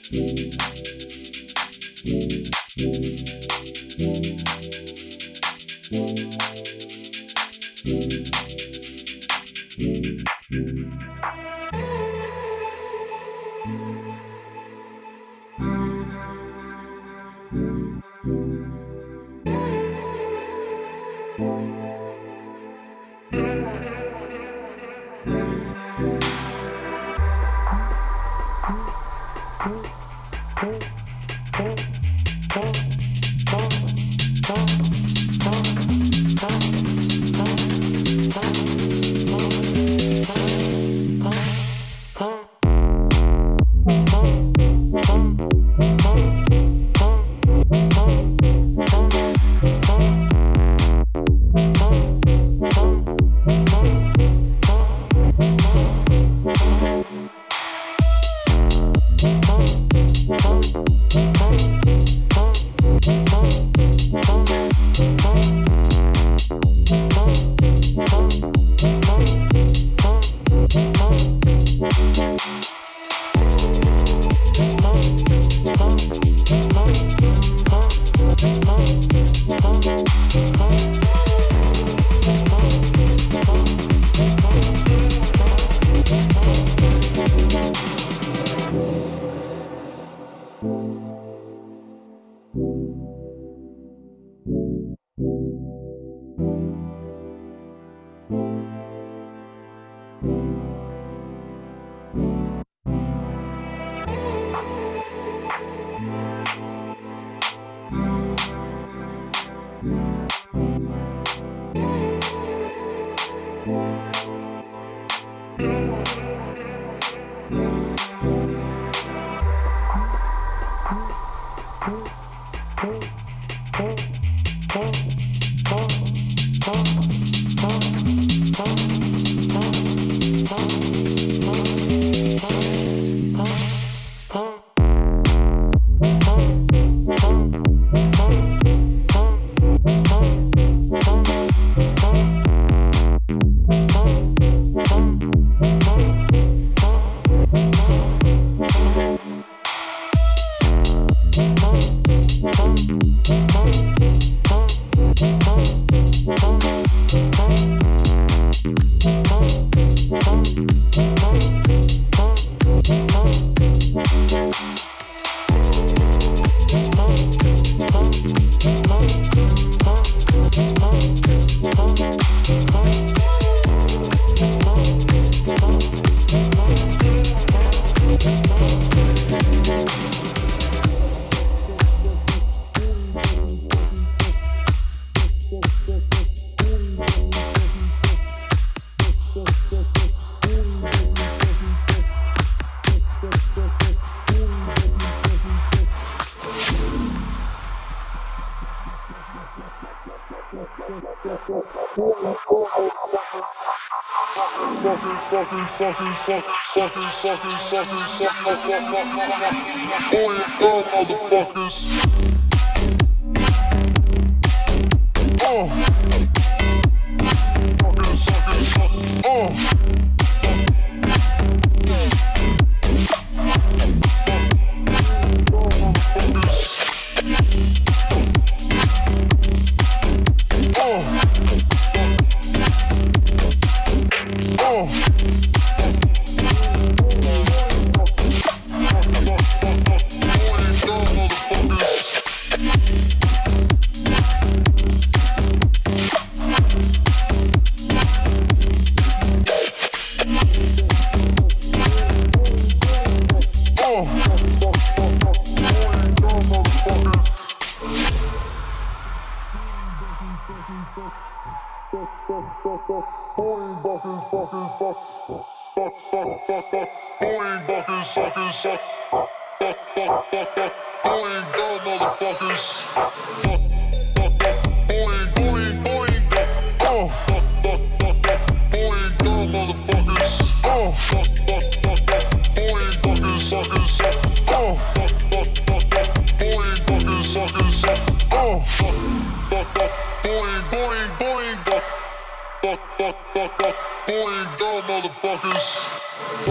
Boing, go, motherfuckers.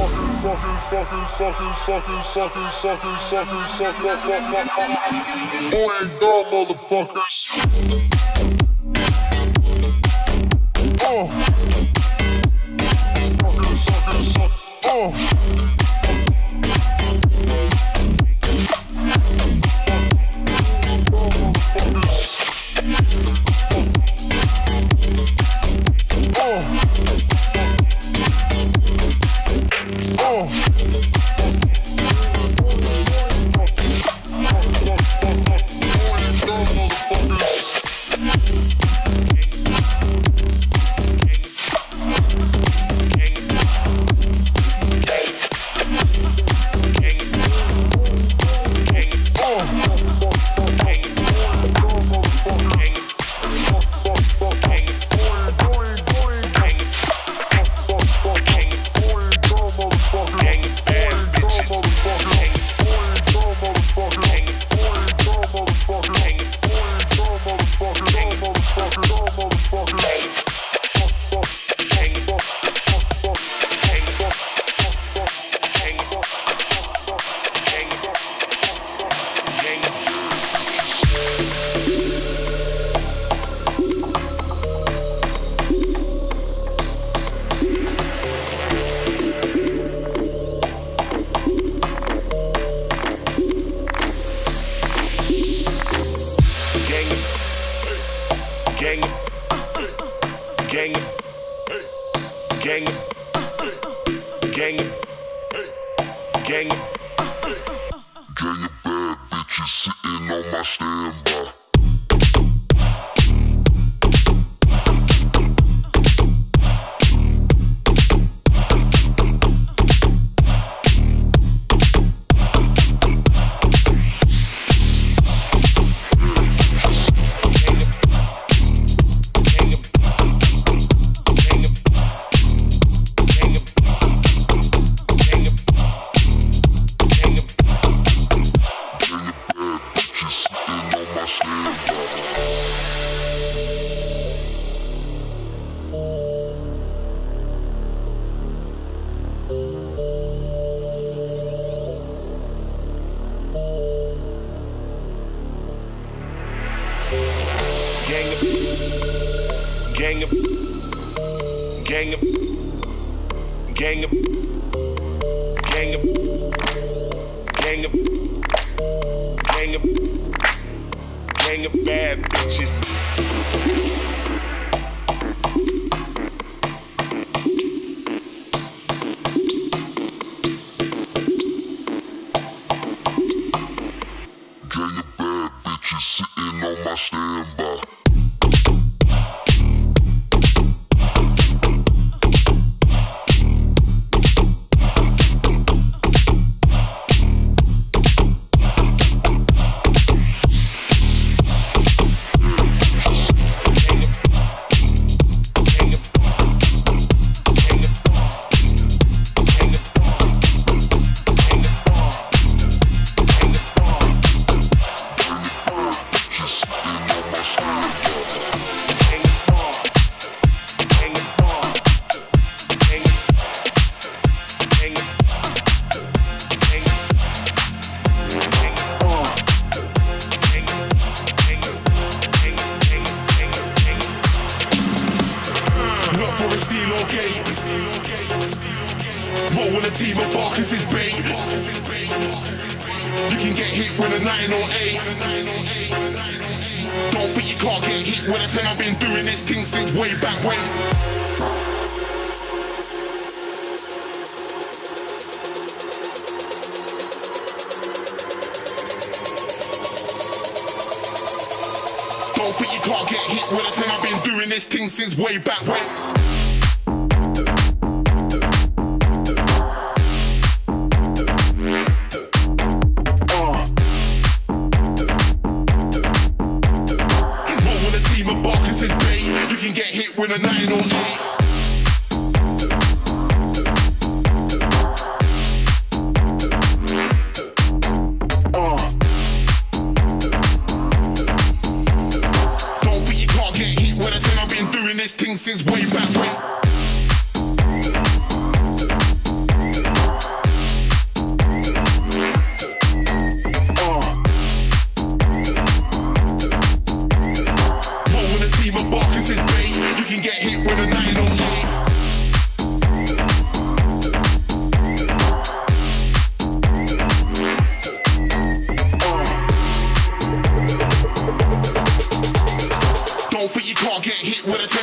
Since way back when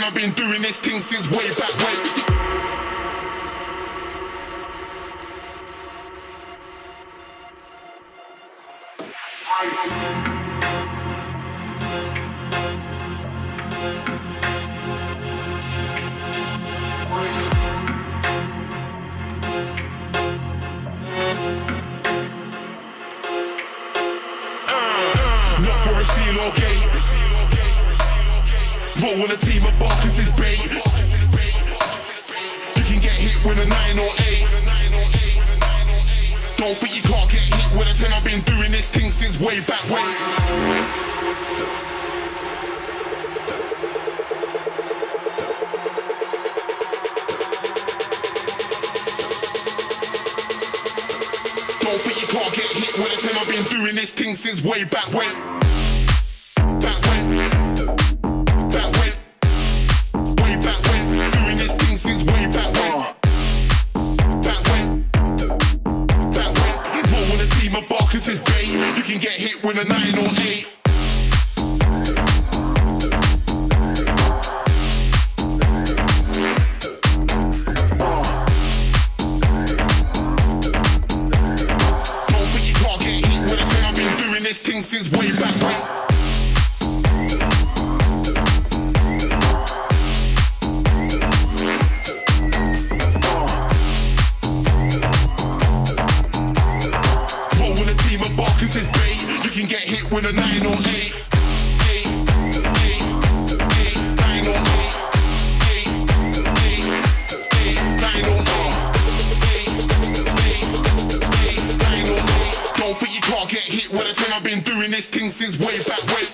I've been doing this thing since way back when. Not for a steal or gate. Roll on a team of Barkers is bait. You can get hit with a 9 or 8. Don't think you can't get hit with a 10. I've been doing this thing since way back when. Don't think you can't get hit with a 10. I've been doing this thing since way back when. Back when. Back when. Way back when. Doing this thing since way back when. Back when. Back when. Roll with a team of Barkers is bait. You can get hit with a 9 or 8. Since way back when. Roll with a team of Barkers is bait. You can get hit with a 9 or 8. 8, 8, 8, 9 or 8. 8, 8, 8, 9 or 8. 8, 8, 8, 9 or 8. Don't think you can't get hit with a 10. I've been doing this thing since way back when.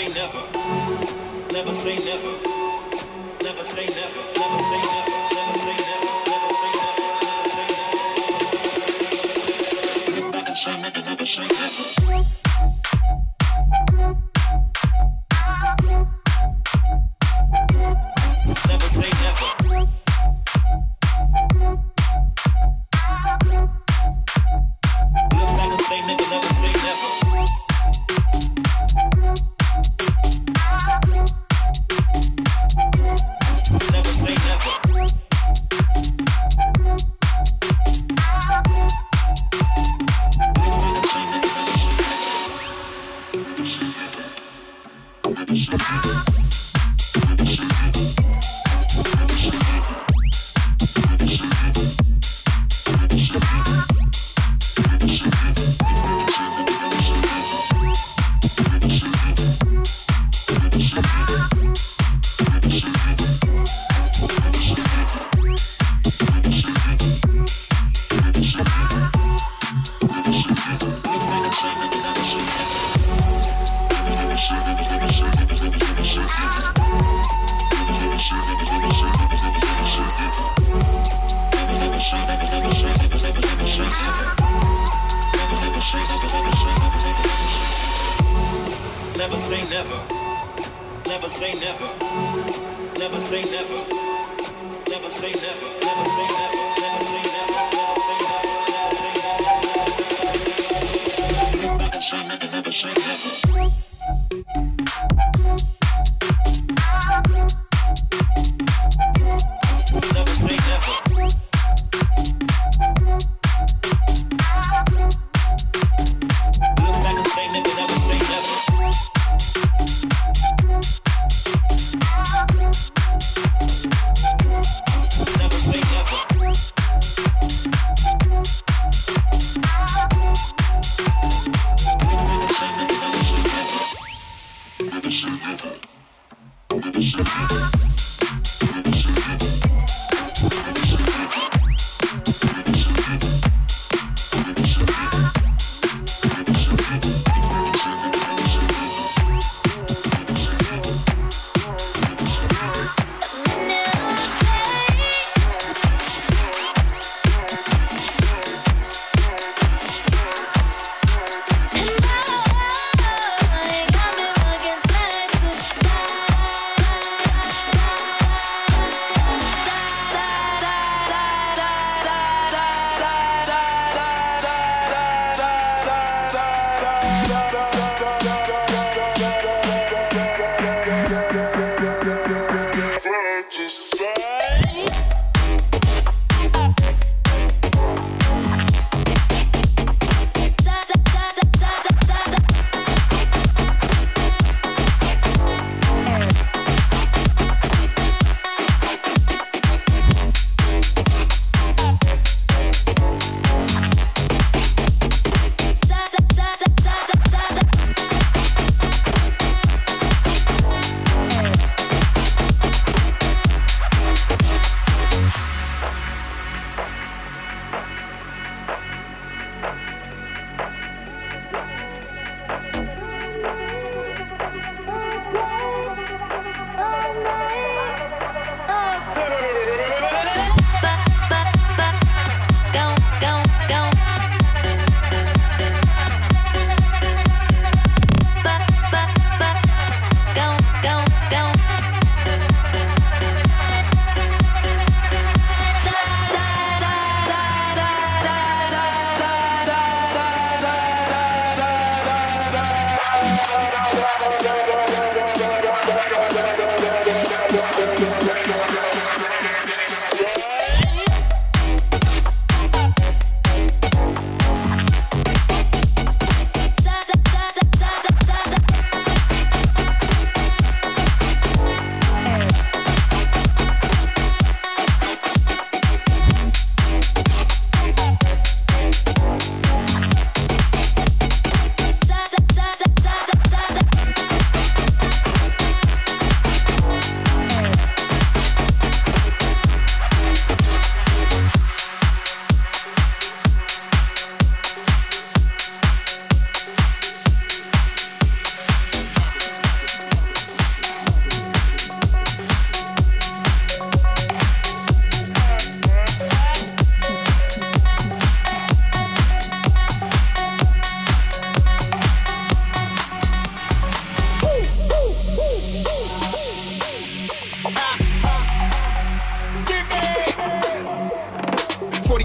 say never. Never say never. Never say never. Never say never. Never say never. Never say never. Never say never. Look back and say never. Never say never. Never say never. Look back and say nigga, never say never. Never say never. Look back and say nigga, never say never. Never say never. Never say never. Never say never. Never say never. Never say never. Never say never. Never say never. Never say never. Never say never. Look back and say never. Never say never. Never say never. Look back and say nigga, never say never. Never say never. Look back and say nigga, never say never. Never say never. Never say never.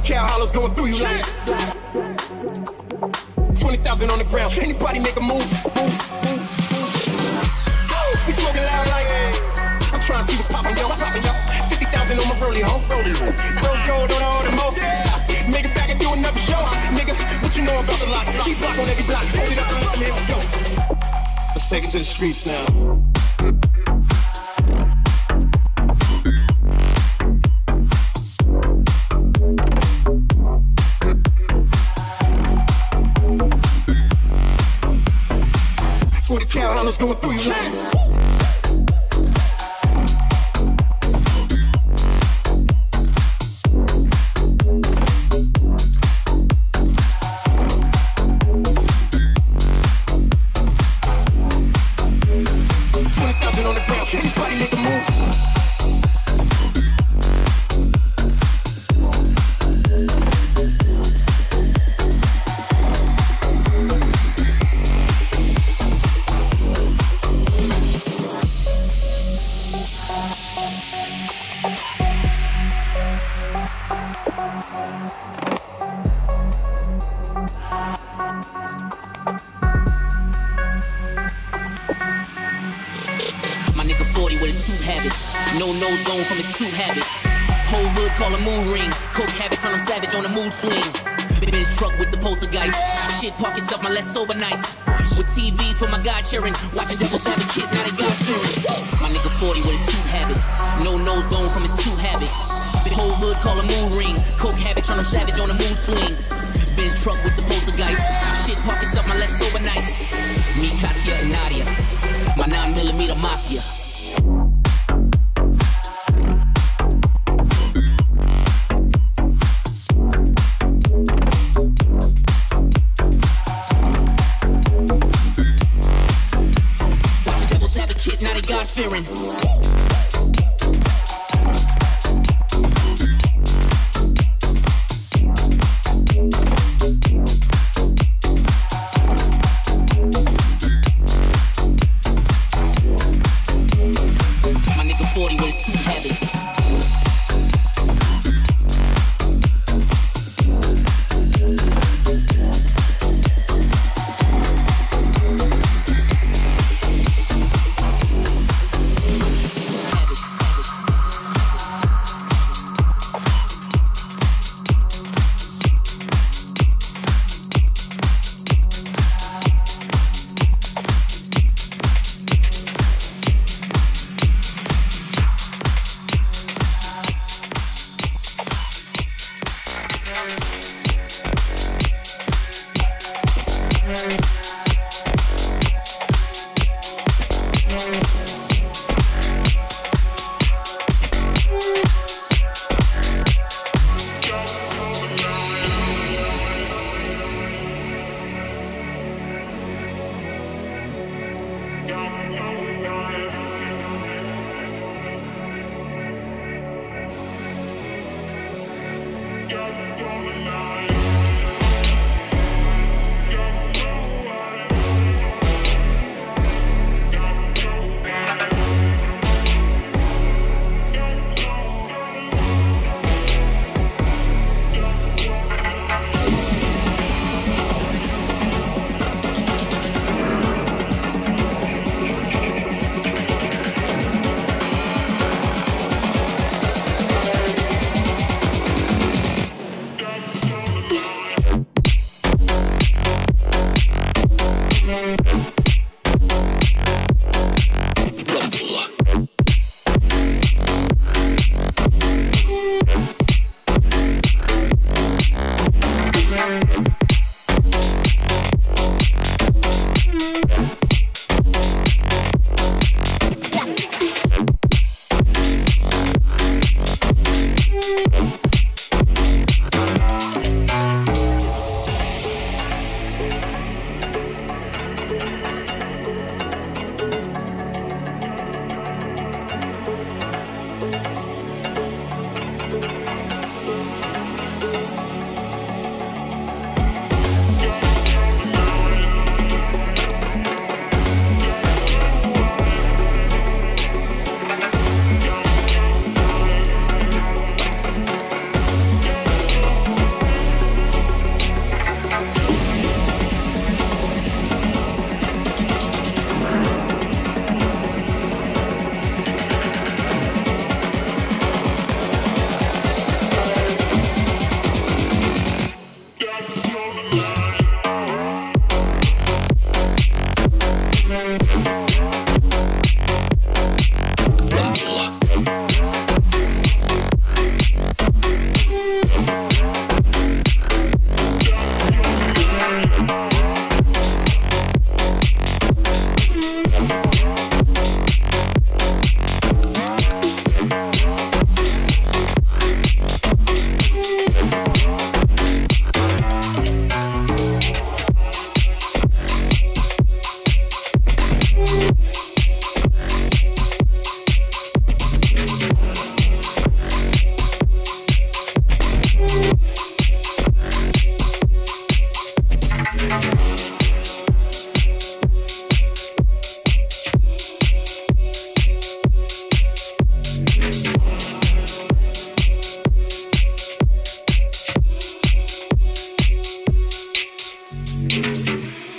cal hollows going through you like 20,000 on the ground. Anybody make a move? We smoking loud like I'm trying to see what's poppin', yo. 50,000 on my rollie, ho. Rose gold on all the mo. Make it back and do another show. Nigga, what you know about the locks? Deep block on every block. Hold it up and let me let's go. Let's take it to the streets now. Cal hollows going through you like 20,000 on the ground. Anybody make a move? No nose bone from his tooth habit. Whole hood call a mood ring. Coke habit turn him savage on a mood swing. Benz truck with the poltergeist. Shit pockets up my less sober nights. With TVs for my god cheering. Watching Devil's Advocate, now they got fearing. My nigga 40 with a tooth habit. No nose bone from his tooth habit. Whole hood call a mood ring. Coke habit turn him savage on a mood swing. Benz truck with the poltergeist. Shit pockets up my less sober nights. Me, Katia, and Nadia. My 9mm mafia. Now they God-fearing. My nigga 40 with a tooth habit. Hey.